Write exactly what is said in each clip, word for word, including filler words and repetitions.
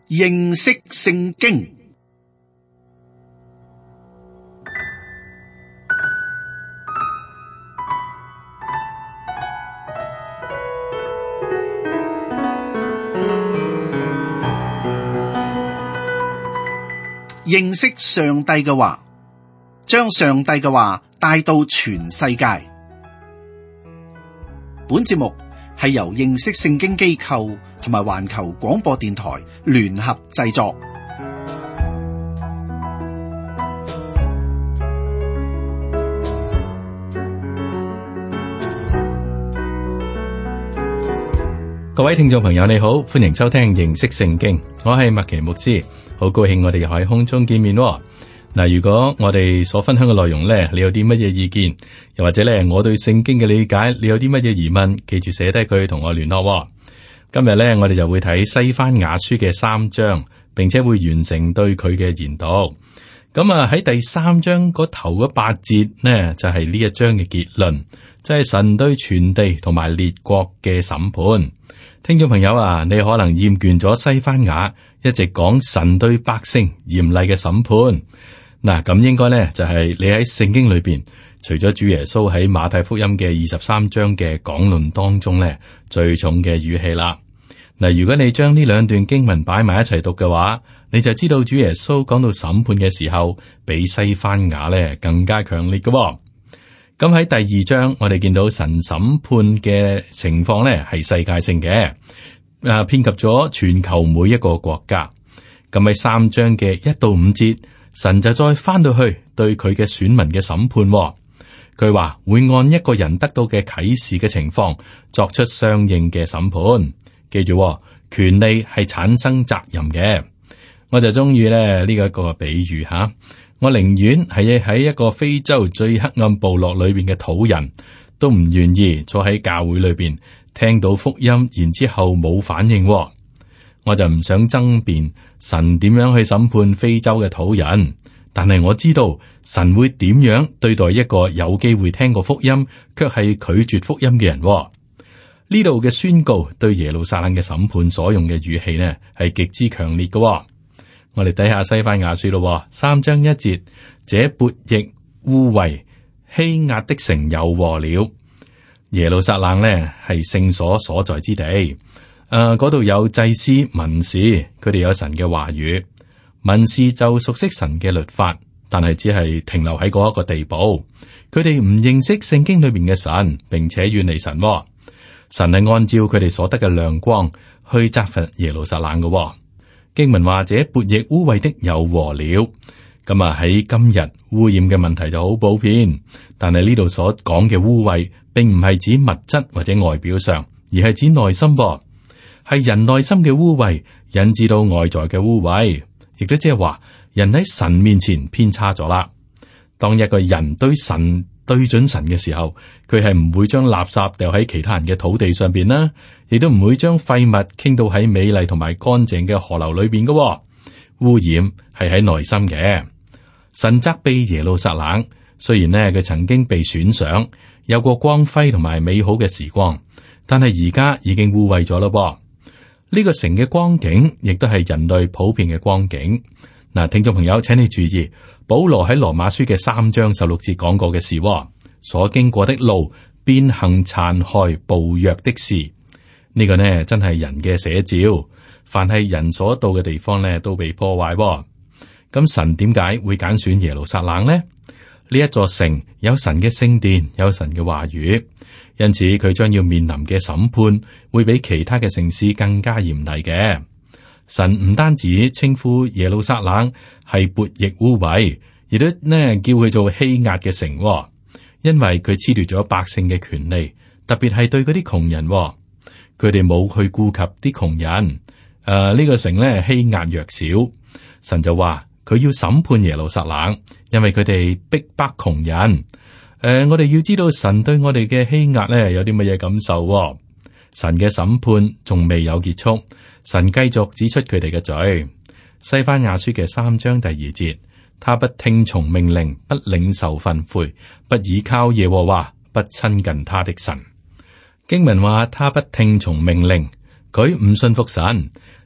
認識聖經。認識上帝嘅話，將上帝嘅話帶到全世界。本節目係由認識聖經機構同埋環球廣播電台聯合製作。 各位聽眾朋友，你好，歡迎收聽認識聖經。我係麥奇牧師，好高興我哋又喺空中見面。嗱，如果我哋所分享嘅內容呢，你有啲乜嘢意見，又或者呢，我對聖經嘅理解，你有啲乜嘢疑問，記住寫低佢同我聯絡。今日呢，我哋就會睇西番雅書嘅三章，並且會完成對佢嘅研讀。咁啊，喺第三章嗰頭嗰八節呢，就係呢一章嘅結論，就係神對全地同埋列國嘅審判。聽眾朋友啊，你可能厭倦咗西番雅一直講神對百姓嚴厲嘅審判。嗱，咁應該咧就係你喺聖經裏邊，除咗主耶穌喺馬太福音嘅二十三章嘅講論當中咧最重嘅語氣啦。嗱，如果你將呢兩段經文擺埋一齊讀嘅話，你就知道主耶穌講到審判嘅時候，比西番雅咧更加強烈嘅。咁喺第二章，我哋見到神審判嘅情況咧係世界性嘅，誒，遍及咗全球每一個國家。咁喺三章嘅一到五節，神就再翻到去對佢嘅選民嘅審判。佢話會按一個人得到嘅啟示嘅情況作出相應嘅審判。記住，權利係產生責任嘅。我就中意咧呢一個比喻吓。我寧願係喺一個非洲最黑暗部落裏邊嘅土人，都唔願意坐喺教會裏邊聽到福音，然之後冇反應。我就唔想爭辯神點樣去審判非洲嘅土人，但係我知道神會點樣對待一個有機會聽過福音卻係拒絕福音嘅人。呢度嘅宣告對耶路撒冷嘅審判所用嘅語氣呢，係極之強烈嘅。我哋睇下西番雅書咯，三章一節，這悖逆污穢欺壓的城有禍了。耶路撒冷呢係聖所所在之地，誒、呃，嗰度有祭司、文士，佢哋有神嘅話語。文士就熟悉神嘅律法，但係只係停留喺嗰一個地步。佢哋唔認識聖經裏面嘅神，並且遠離神。神係按照佢哋所得嘅亮光去責罰耶路撒冷嘅。經文話，這悖逆污穢的有禍了。咁啊，喺今日污染嘅問題就好普遍，但係呢度所講嘅污穢，並唔係指物質或者外表上，而係指內心噃，係人內心嘅污穢引致到外在嘅污穢，亦都即係話人喺神面前偏差咗啦。當一個人對神對準神嘅時候，佢係唔會將垃圾掉喺其他人嘅土地上邊啦，亦都唔會將廢物傾到喺美麗同埋乾淨嘅河流裏邊嘅。污染係喺內心嘅。神責備耶路撒冷，雖然呢佢曾經被選上，有過光輝同埋美好嘅時光，但係而家已經污穢咗咯噃。呢個城嘅光景，亦都係人類普遍嘅光景。嗱，聽眾朋友，請你注意，保羅喺羅馬書嘅三章十六節講過嘅事，所經過的路，變行殘害暴虐的事。呢、這個呢，真係人嘅寫照。凡係人所到嘅地方呢，都被破壞。咁神點解會揀選耶路撒冷呢？呢一座城有神嘅聖殿，有神嘅話語，因此佢將要面臨嘅審判會比其他嘅城市更加嚴厲嘅。神唔單止稱呼耶路撒冷係悖逆污穢，亦都呢叫佢做欺壓嘅城，因為佢褫奪咗百姓嘅權利，特別係對嗰啲窮人，佢哋冇去顧及啲窮人。誒、呃，呢、這個城呢欺壓弱小，神就話佢要審判耶路撒冷，因為佢哋逼迫窮人。誒、呃，我哋要知道神對我哋嘅欺壓呢有啲乜嘢感受。神嘅審判仲未有結束。神繼續指出佢哋嘅罪。西番雅書嘅三章第二節，他不聽從命令，不領受訓誨，不倚靠耶和華，不親近他的神。經文話他不聽從命令，佢唔信服神，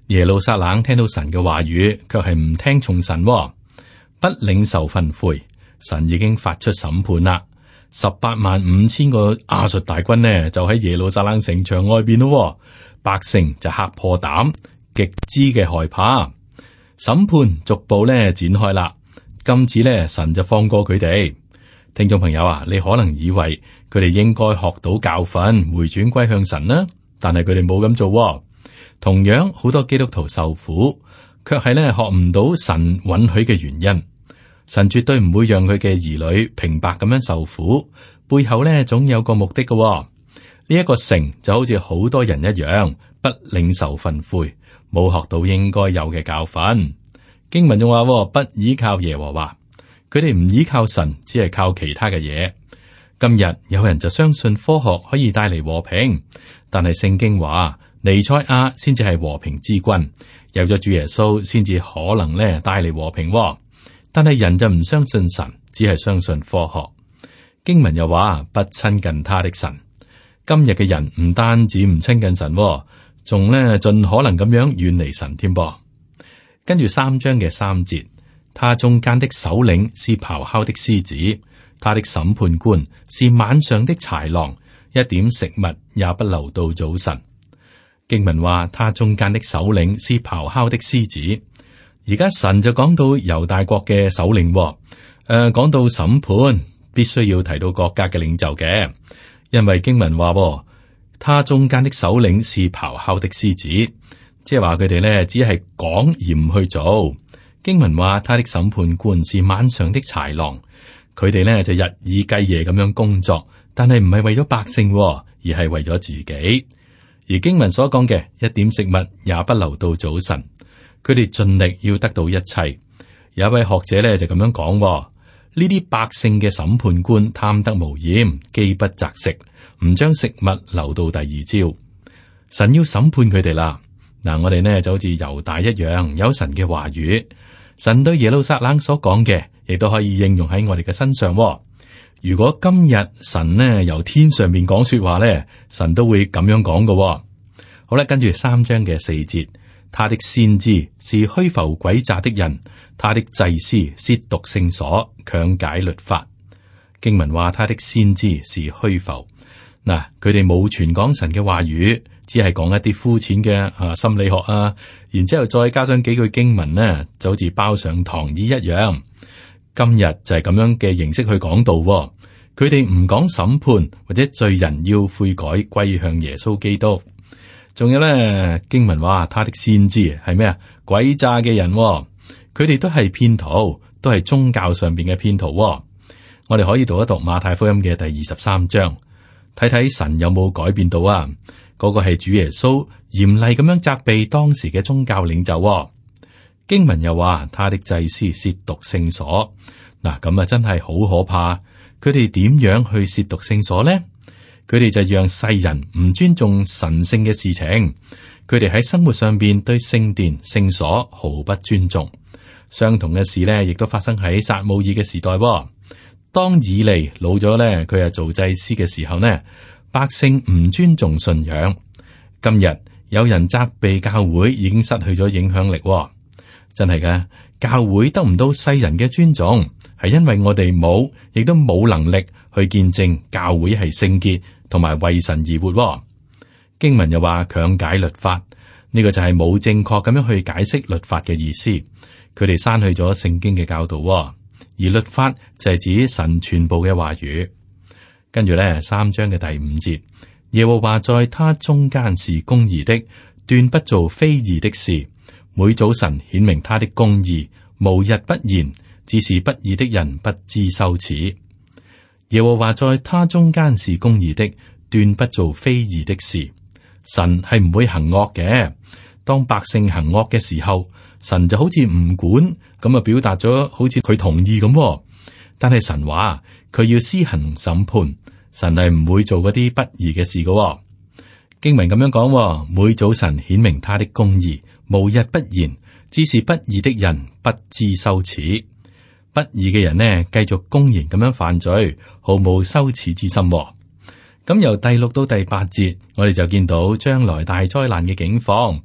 耶路撒冷聽到神嘅話語，卻係唔聽從神，不領受訓誨。神已經發出審判啦，十八萬五千個亞述大軍呢，就喺耶路撒冷城牆外邊咯，百姓就嚇破膽，極之嘅害怕。審判逐步咧展開啦，今次咧神就放過佢哋。聽眾朋友啊，你可能以為佢哋應該學到教訓，回轉歸向神啦，但係佢哋冇咁做。同樣好多基督徒受苦，卻係咧學唔到神允許嘅原因。神絕對唔會讓佢嘅兒女平白咁樣受苦，背後咧總有個目的嘅。呢一個城就好似好多人一樣，不領受訓誨，冇學到應該有嘅教訓。經文仲話不依靠耶和華，佢哋唔依靠神，只係靠其他嘅嘢。今日有人就相信科學可以帶嚟和平，但係聖經話彌賽亞先至係和平之君，有咗主耶穌先至可能咧帶嚟和平。但係人就唔相信神，只係相信科學。經文又話不親近他的神。今日嘅人唔單止唔親近神，仲咧盡可能咁樣遠離神添噃。跟住三章嘅三節，他中間的首領是咆哮的獅子，他的審判官是晚上的豺狼，一點食物也不留到早晨。經文話他中間的首領是咆哮的獅子。而家神就講到猶大國嘅首領，誒、呃，講到審判必須要提到國家嘅領袖嘅，因為經文話，他中間的首領是咆哮的獅子，即係話佢哋咧只係講而唔去做。經文話他的審判官是晚上的豺狼，佢哋咧就日以繼夜咁樣工作，但係唔係為咗百姓，而係為咗自己。而經文所講嘅一點食物也不留到早晨。佢哋盡力要得到一切。有一位學者咧就咁樣講，呢啲百姓嘅審判官貪得無厭，飢不擇食，唔將食物留到第二朝。神要審判佢哋啦。嗱，我哋呢就好似猶大一樣，有神嘅話語。神對耶路撒冷所講嘅，亦都可以應用喺我哋嘅身上。如果今日神呢由天上面講說話咧，神都會咁樣講嘅。好啦，跟住三章嘅四節。他的先知是虛浮詭詐的人，他的祭司褻瀆聖所，強解律法。經文話他的先知是虛浮，嗱，佢哋冇傳講神嘅話語，只係講一啲膚淺嘅啊心理學啊，然之後再加上幾句經文呢，就好似包上糖衣一樣。今日就係咁樣嘅形式去講道，佢哋唔講審判或者罪人要悔改歸向耶穌基督。仲有咧，經文話他的先知係咩啊？詭詐嘅人，佢哋都係騙徒，都係宗教上邊嘅騙徒。我哋可以讀一讀馬太福音嘅第二十三章，睇睇神有冇改變到啊？嗰、那個係主耶穌嚴厲咁樣責備當時嘅宗教領袖。經文又話他的祭司褻瀆聖所，嗱，咁啊真係好可怕。佢哋點樣去褻瀆聖所呢？佢哋就讓世人唔尊重神聖嘅事情，佢哋喺生活上邊對聖殿聖所毫不尊重。相同嘅事呢，亦都發生喺撒母耳嘅時代。當以利老咗呢，佢係做祭司嘅時候呢，百姓唔尊重信仰。今日有人責備教會已經失去咗影響力，真係噶，教會得唔到世人嘅尊重，係因為我哋冇，亦都冇能力去見證教會係聖潔。同埋為神而活。經文又話強解律法，呢、這個就係冇正確咁樣去解釋律法嘅意思。佢哋刪去咗聖經嘅教導，而律法就係指神全部嘅話語。跟住咧，三章嘅第五節，耶和華在他中間是公義的，斷不做非義的事。每早晨顯明他的公義，無日不言，只是不義的人不知羞恥。耶和華在他中間是公義的，斷不做非義的事。神係唔會行惡嘅。當百姓行惡嘅時候，神就好似唔管咁啊，表達咗好似佢同意咁。但係神話佢要施行審判，神係唔會做嗰啲不義嘅事嘅。經文咁樣講，每早晨顯明他的公義，無日不言，只是不義的人不知羞恥。不義嘅人呢，繼續公然咁樣犯罪，毫無羞恥之心。咁由第六到第八節，我哋就見到將來大災難嘅境況。呢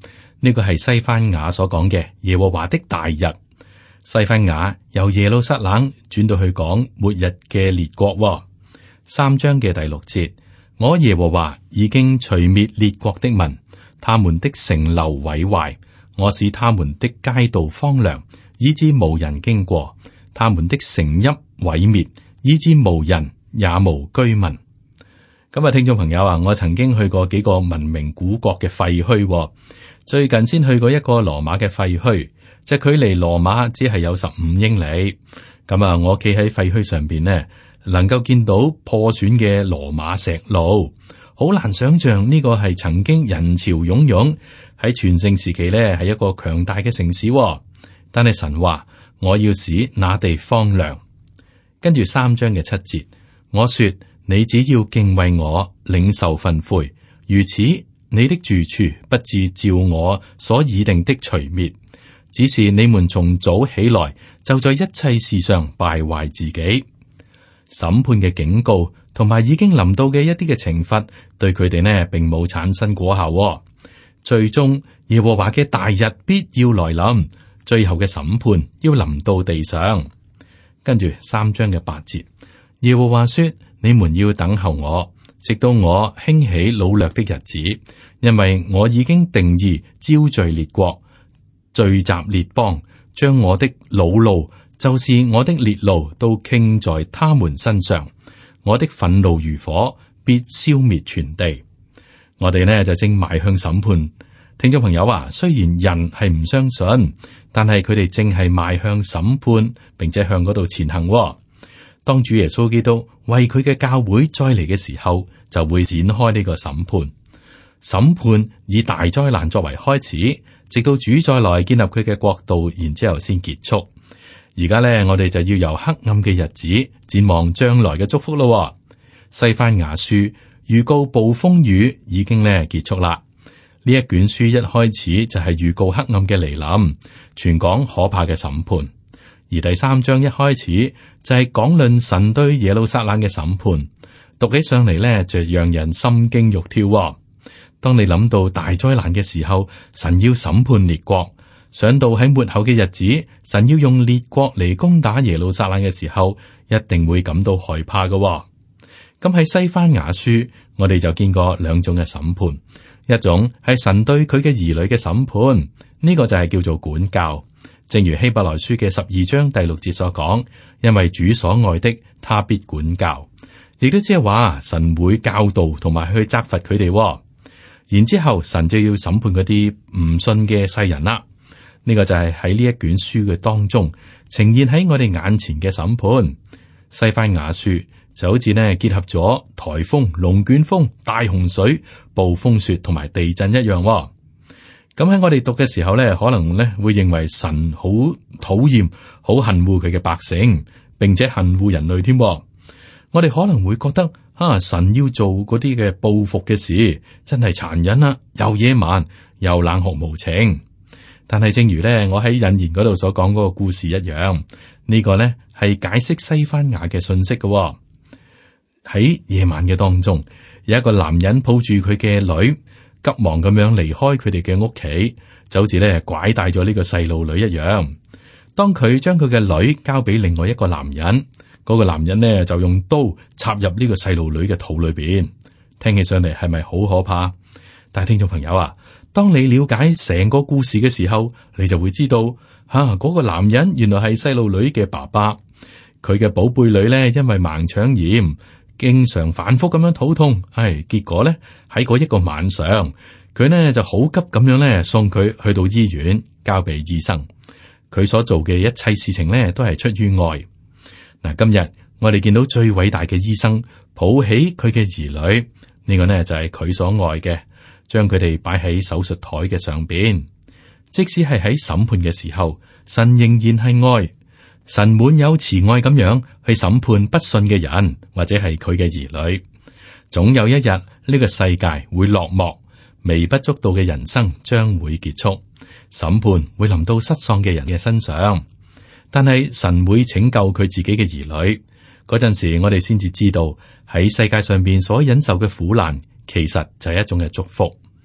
呢個係西番雅所講嘅耶和華的大日。西番雅由耶路撒冷轉到去講末日嘅列國、哦。三章嘅第六節，我耶和華已經除滅列國的民，他們的城樓毀壞，我使他們的街道荒涼，以致無人經過；他們的城邑毀滅，以致無人也無居民。咁啊，聽眾朋友啊，我曾經去過幾個文明古國嘅廢墟、哦，最近先去過一個羅馬嘅廢墟，即係距離羅馬只係有十五英里。咁啊，我企喺廢墟上邊呢，能夠見到破損嘅羅馬石路，好難想象呢個係曾經人潮湧湧喺全盛時期呢，係一個強大嘅城市、哦。但係神話我要使那地荒涼。跟住三章嘅七節，我說。你只要敬畏我，領受訓誨，如此你的住處不至照我所擬定的除滅。只是你們從早起來，就在一切事上敗壞自己。審判嘅警告同埋已經臨到嘅一啲嘅懲罰，對佢哋呢並冇產生果效、哦。最終耶和華嘅大日必要來臨，最後嘅審判要臨到地上。跟住三章嘅八節，耶和華說。你們要等候我，直到我興起擄掠的日子，因為我已經定義招聚列國，聚集列邦，將我的惱怒，就是我的烈怒，都傾在他們身上。我的憤怒如火，必消滅全地。我哋呢就正邁向審判。聽眾朋友啊，雖然人係唔相信，但係佢哋正係邁向審判，並且向嗰度前行、哦。當主耶穌基督為佢嘅教會再嚟嘅時候，就會展開呢個審判。審判以大災難作為開始，直到主再來建立佢嘅國度，然之後先結束。而家咧，我哋就要由黑暗嘅日子展望將來嘅祝福咯。西番雅書預告暴風雨已經咧結束啦。呢一卷書一開始就係預告黑暗嘅嚟臨，傳講可怕嘅審判。而第三章一開始就係講論神對耶路撒冷嘅審判，讀起上嚟咧就讓人心驚肉跳、哦。當你諗到大災難嘅時候，神要審判列國；想到喺末後嘅日子，神要用列國嚟攻打耶路撒冷嘅時候，一定會感到害怕嘅、哦。咁喺西番雅書，我哋就見過兩種嘅審判，一種係神對佢嘅兒女嘅審判，呢、這個就係叫做管教。正如希伯來書嘅十二章第六節所講，因為主所愛的，他必管教，亦都即係話神會教導同埋去責罰佢哋。然之後神就要審判嗰啲唔信嘅世人啦。呢、這個就係喺呢一卷書嘅當中呈現喺我哋眼前嘅審判。西番雅書就好似呢結合咗颱風、龍捲風、大洪水、暴風雪同埋地震一樣。咁喺我哋讀嘅時候咧，可能咧會認為神好討厭、好恨惡佢嘅百姓，並且恨惡人類添。我哋可能會覺得啊，神要做嗰啲嘅報復嘅事，真係殘忍啦，又野蠻又冷酷無情。但係正如咧，我喺引言嗰度所講嗰個故事一樣，呢個咧係解釋西番雅嘅信息嘅。喺夜晚嘅當中，有一個男人抱住佢嘅女，急忙咁樣離開佢哋嘅屋企，就好似咧拐帶咗呢個細路女一樣。當佢將佢嘅女交俾另外一個男人，嗰個男人呢就用刀插入呢個細路女嘅肚裏邊。聽起上嚟係咪好可怕？但係聽眾朋友啊，當你了解成個故事嘅時候，你就會知道吓嗰個男人原來係細路女嘅爸爸。佢嘅寶貝女呢，因為盲腸炎，經常反覆咁樣肚痛，唉，結果咧喺嗰一個晚上，佢呢就好急咁樣咧送佢去到醫院，交俾醫生。佢所做嘅一切事情咧都係出於愛。嗱，今日我哋見到最偉大嘅醫生抱起佢嘅兒女，呢個呢就係佢所愛嘅，將佢哋擺喺手術台嘅上邊。即使係喺審判嘅時候，神仍然係愛。神滿有慈愛咁樣去審判不信嘅人，或者係佢嘅兒女。總有一日呢個世界會落幕，微不足道嘅人生將會結束，審判會臨到失喪嘅人嘅身上。但係神會拯救佢自己嘅兒女。嗰陣時，我哋先至知道喺世界上邊所忍受嘅苦難，其實就係一種嘅祝福。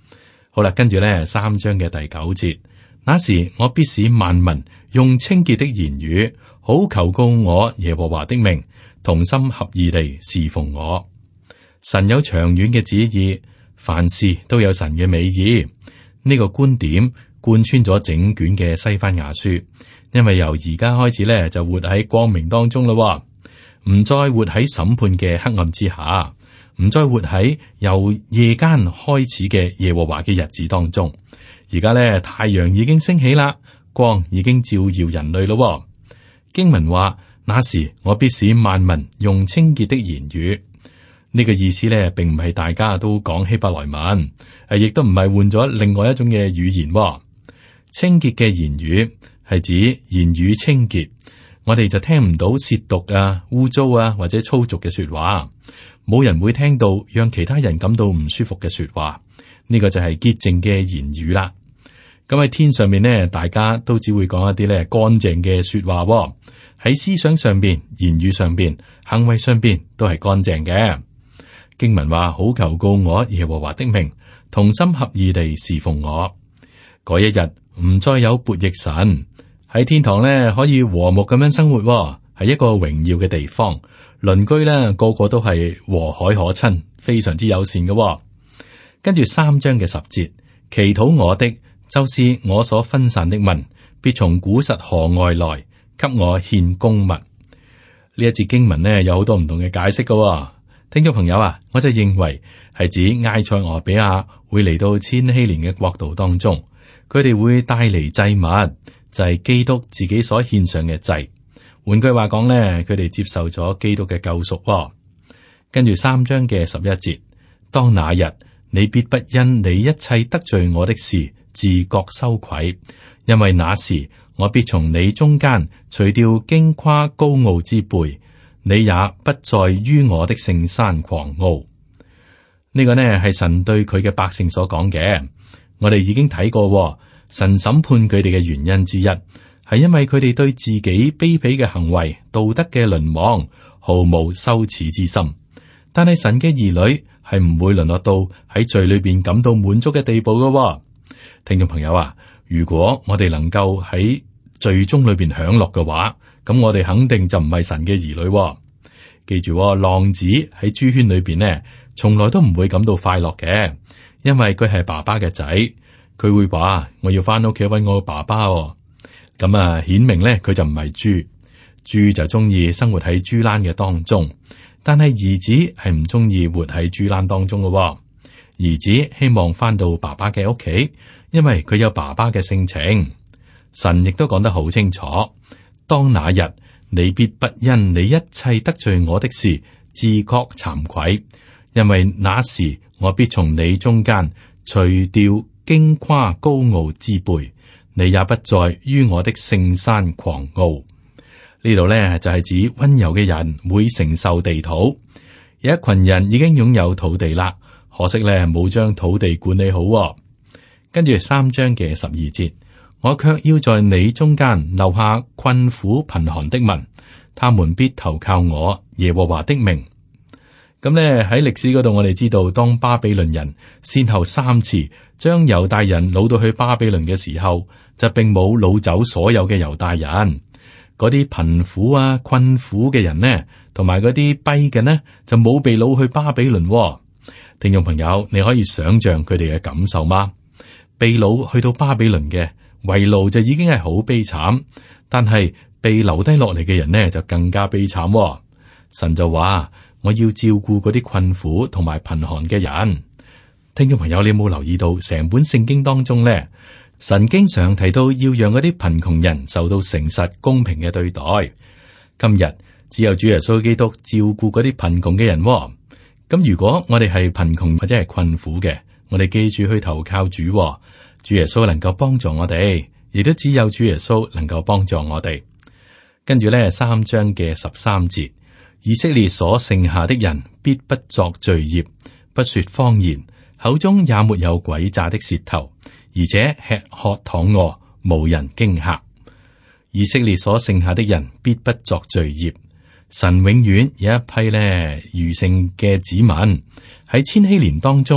好啦，跟住咧三章嘅第九節，那時我必使萬民用清潔的言語，好求告我耶和華的名，同心合意地侍奉我。神有長遠嘅旨意，凡事都有神嘅美意。呢、這個觀點貫穿咗整卷嘅西番雅書，因為由而家開始咧就活喺光明當中咯，唔再活喺審判嘅黑暗之下，唔再活喺由夜間開始嘅耶和華嘅日子當中。而家咧太陽已經升起啦，光已經照耀人類咯。經文話，那時我必使萬民用清潔的言語。呢個意思咧，並唔係大家都講希伯來文，誒，亦都唔係換咗另外一種嘅語言。清潔嘅言語係指言語清潔，我哋就聽唔到褻瀆啊、污糟啊或者粗俗嘅說話，冇人會聽到讓其他人感到唔舒服嘅說話。呢個就係潔淨嘅言語啦。咁喺天上面呢，大家都只會講一啲咧乾淨嘅說話，喺思想上邊、言語上邊、行為上邊都係乾淨嘅。經文話，好求告我耶和華的名，同心合意地侍奉我。嗰一日唔再有悖逆神，喺天堂咧可以和睦咁樣生活，係一個榮耀嘅地方。鄰居咧個個都係和藹可親，非常之友善嘅。跟住三章嘅十節，祈禱我的，就是我所分散的民，必從古實河外來，給我獻供物。呢一節經文呢，有好多唔同嘅解釋嘅。聽眾朋友啊，我就認為係指埃塞俄比亞會嚟到千禧年嘅國度當中，佢哋會帶嚟祭物，就係基督自己所獻上嘅祭。換句話講咧，佢哋接受咗基督嘅救贖。跟住三章嘅十一節，當那日你必不因你一切得罪我的事自覺羞愧，因為那時我必從你中間除掉矜誇高傲之輩。你也不再於我的聖山狂傲。呢、這個呢係神對佢嘅百姓所講嘅。我哋已經睇過，神審判佢哋嘅原因之一係因為佢哋對自己卑鄙嘅行為、道德嘅淪亡毫無羞恥之心。但係神嘅兒女係唔會淪落到喺罪裏邊感到滿足嘅地步嘅。聽眾朋友啊，如果我哋能夠喺罪中裏邊享樂嘅話，咁我哋肯定就唔係神嘅兒女、哦。記住、哦，浪子喺豬圈裏邊呢，從來都唔會感到快樂嘅，因為佢係爸爸嘅仔，佢會話我要翻屋企揾我爸爸、哦。咁啊，顯明咧佢就唔係豬，豬就中意生活喺豬欄嘅當中，但係兒子係唔中意活喺豬欄當中嘅、哦。兒子希望翻到爸爸嘅屋企，因為佢有爸爸嘅性情。神亦都講得好清楚。當那日，你必不因你一切得罪我的事自覺慚愧，因為那時我必從你中間除掉矜誇高傲之輩，你也不再於我的聖山狂傲。呢度呢，就係、是、指溫柔嘅人會承受地土。有一群人已經擁有土地啦，可惜呢冇將土地管理好、哦。跟住三章嘅十二節。我卻要在你中間留下困苦貧寒的民，他們必投靠我耶和華的名。咁呢喺歷史嗰度，我哋知道當巴比倫人先後三次將猶大人擄到去巴比倫嘅時候，就並冇擄走所有嘅猶大人。嗰啲貧苦啊困苦嘅人呢，同埋嗰啲跛嘅呢，就冇被擄去巴比倫、哦。聽眾朋友，你可以想象佢哋嘅感受嗎？被擄去到巴比倫嘅。為奴就已經係好悲慘，但係被留低落嚟嘅人呢就更加悲慘、哦。神就話：我要照顧嗰啲困苦同埋貧寒嘅人。聽眾朋友，你有冇留意到成本聖經當中呢？神經常提到要讓嗰啲貧窮人受到誠實公平嘅對待。今日只有主耶穌基督照顧嗰啲貧窮嘅人、哦。咁如果我哋係貧窮或者係困苦嘅，我哋記住去投靠主、哦。主耶穌能夠幫助我哋，亦都只有主耶穌能夠幫助我哋。跟住咧，三章嘅十三節，以色列所剩下的人必不作罪孽，不說謊言，口中也沒有詭詐的舌頭，而且吃喝躺臥，無人驚嚇。以色列所剩下的人必不作罪孽。神永遠有一批咧餘剩嘅子民喺千禧年當中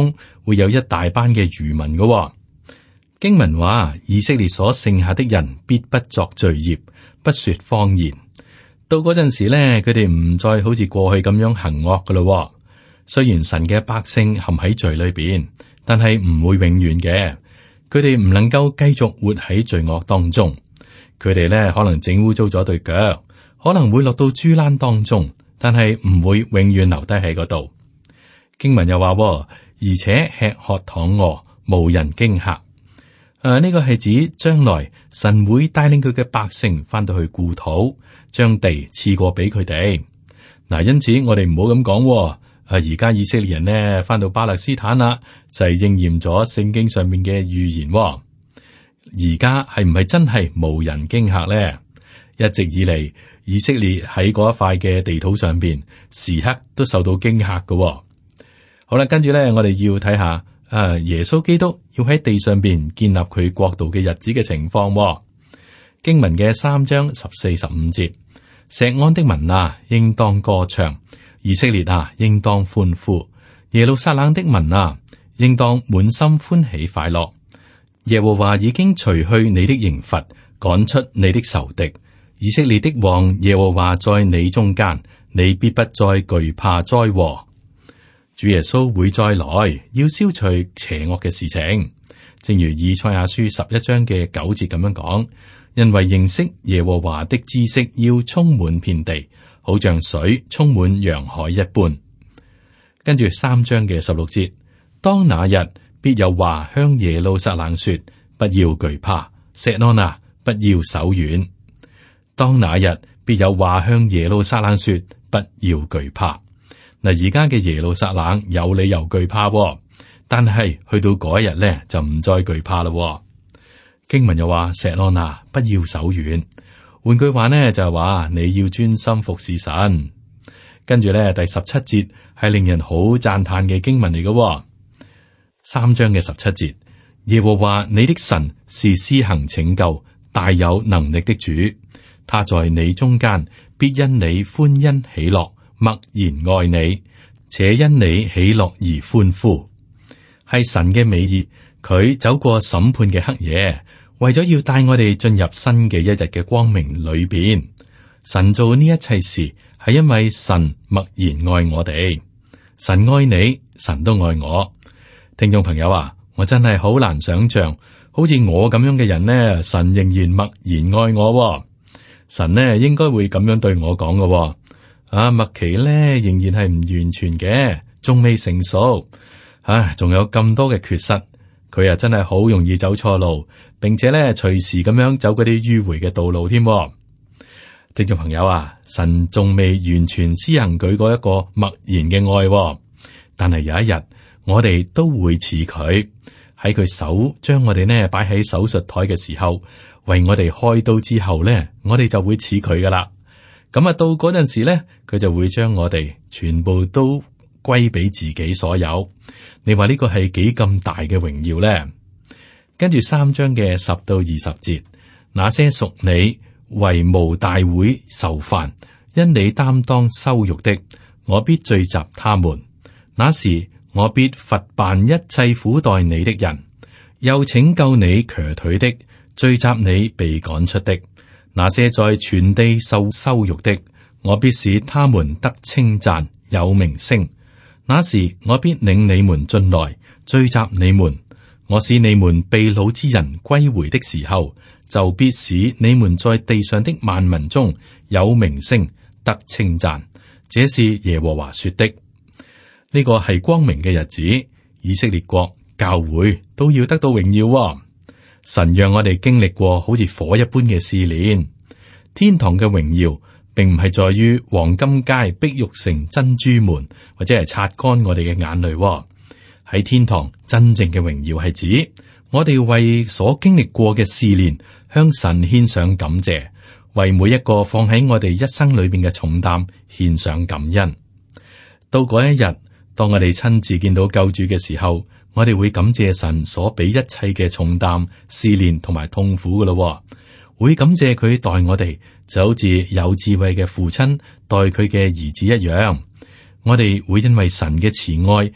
會有一大班嘅餘民嘅、哦。經文話，以色列所剩下的人必不作罪孽，不說謊言。到嗰陣時咧，佢哋唔再好似過去咁樣行惡噶咯。雖然神嘅百姓陷喺罪裏邊，但係唔會永遠嘅。佢哋唔能夠繼續活喺罪惡當中。佢哋咧可能整污糟咗對腳，可能會落到豬欄當中，但係唔會永遠留低喺嗰度。經文又話，而且吃喝躺臥，無人驚嚇。誒、啊，呢、這個係指將來神會帶領佢嘅百姓翻到去故土，將地賜過俾佢哋。嗱、啊，因此我哋唔好咁講。誒、啊，而家以色列人呢翻到巴勒斯坦啦，就係、是、應驗咗聖經上面嘅預言。而家係唔係真係無人驚嚇咧？一直以嚟，以色列喺嗰一塊嘅地土上邊，時刻都受到驚嚇嘅。好啦，跟住咧，我哋要睇下。啊！耶穌基督要喺地上邊建立佢國度嘅日子嘅情況、哦。經文嘅三章十四、十五節，錫安的民啊，應當歌唱；以色列啊，應當歡呼；耶路撒冷的民啊，應當滿心歡喜快樂。耶和華已經除去你的刑罰，趕出你的仇敵。以色列的王耶和華在你中間，你必不再懼怕災禍。主耶穌會再來，要消除邪惡嘅事情，正如以賽亞書十一章嘅九節咁樣講。因為認識耶和華的知識要充滿遍地，好像水充滿洋海一般。跟住三章嘅十六節，當那日必有話向耶路撒冷說：不要懼怕，錫安啊，不要手軟。當那日必有話向耶路撒冷說：不要懼怕。嗱，而家嘅耶路撒冷有理由懼怕、哦，但係去到嗰一日咧就唔再懼怕啦、哦。經文又話：錫安啊，不要手軟。換句話呢，就係話你要專心服侍神。跟住咧第十七節係令人好讚嘆嘅經文嚟嘅、哦。三章嘅十七節，耶和華你的神是施行拯救、大有能力的主，他在你中間必因你歡欣喜樂。默然愛你，且因你喜樂而歡呼，係神嘅美意。佢走過審判嘅黑夜，為咗要帶我哋進入新嘅一日嘅光明裏邊。神做呢一切事，係因為神默然愛我哋。神愛你，神都愛我。聽眾朋友啊，我真係好難想象，好似我咁樣嘅人呢，神仍然默然愛我。神呢應該會咁樣對我講嘅。啊，麥奇咧仍然係唔完全嘅，仲未成熟，唉，仲有咁多嘅缺失，佢啊真係好容易走錯路，並且咧隨時咁樣走嗰啲迂迴嘅道路添。聽眾朋友啊，神仲未完全施行佢嗰一個默然嘅愛，但係有一日我哋都會似佢，喺佢手將我哋呢擺喺手術台嘅時候，為我哋開刀之後咧，我哋就會似佢噶啦。咁啊，到嗰陣時咧，佢就會將我哋全部都歸俾自己所有。你話呢個係幾咁大嘅榮耀咧？跟住三章嘅十到二十節，那些屬你為無大會受煩，因你擔當羞辱的，我必聚集他們。那時我必罰辦一切苦待你的人，又拯救你瘸腿的，聚集你被趕出的。那些在全地受羞辱的，我必使他們得稱讚，有名聲。那時我必領你們進來，聚集你們。我使你們被擄之人歸回的時候，就必使你們在地上的萬民中有名聲，得稱讚。這是耶和華說的。呢個係光明嘅日子，以色列國教會都要得到榮耀喎。神讓我哋經歷過好似火一般嘅試煉。天堂嘅榮耀並唔係在於黃金街、碧玉城、珍珠門，或者係擦乾我哋嘅眼淚喎。喺天堂真正嘅榮耀係指我哋為所經歷過嘅試煉向神獻上感謝，為每一個放喺我哋一生裏邊嘅重擔獻上感恩。到嗰一日，當我哋親自見到救主嘅時候，我哋會感謝神所俾一切嘅重擔、試煉同埋痛苦噶咯，會感謝佢待我哋就好似有智慧嘅父親待佢嘅兒子一樣。我哋會因為神嘅慈愛，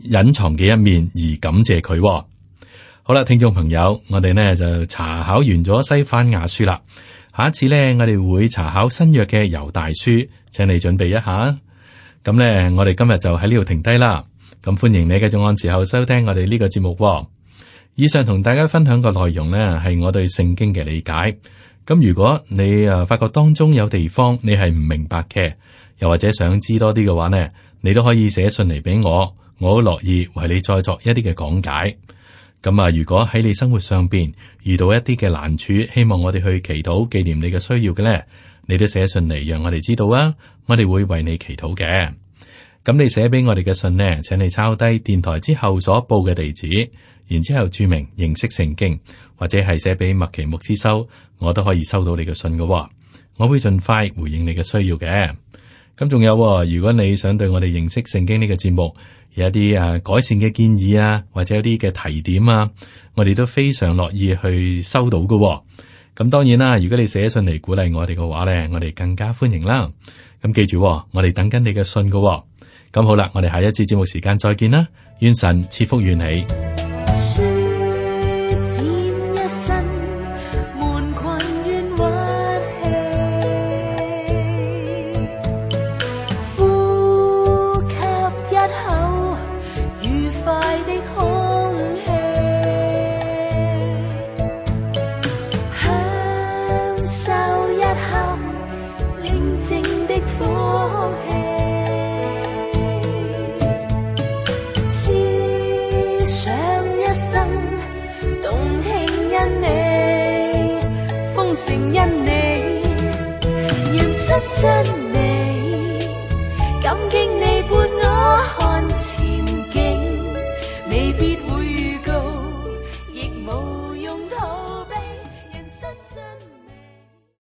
隱藏嘅一面而感謝佢。好啦，聽眾朋友，我哋呢就查考完咗西番雅書啦。下一次呢，我哋會查考新約嘅猶大書，請你準備一下。咁呢，我哋今日就喺呢度停低啦。咁歡迎你繼續按時候收聽我哋呢個節目。以上同大家分享嘅內容呢，係我對聖經嘅理解。咁如果你誒發覺當中有地方你係唔明白嘅，又或者想知多啲嘅話呢，你都可以寫信嚟俾我，我好樂意為你再作一啲嘅講解。咁啊，如果喺你生活上邊遇到一啲嘅難處，希望我哋去祈禱紀念你嘅需要嘅咧，你都寫信嚟讓我哋知道啊，我哋會為你祈禱嘅。咁你寫俾我哋嘅信呢，請你抄低電台之後所報嘅地址，然之後注明認識聖經，或者係寫俾麥奇牧師收，我都可以收到你嘅信嘅。我會盡快回應你嘅需要嘅。咁仲有，如果你想對我哋認識聖經呢個節目有一啲啊改善嘅建議啊，或者有啲嘅提點啊，我哋都非常樂意去收到嘅。咁當然啦，如果你寫信嚟鼓勵我哋嘅話咧，我哋更加歡迎啦。咁記住，我哋等緊你嘅信嘅。咁好啦，我哋下一次節目時間再見啦，願神賜福與你。 成因你認識真理，感激你伴我看前景，未必會預告，亦無用逃避，認識真理。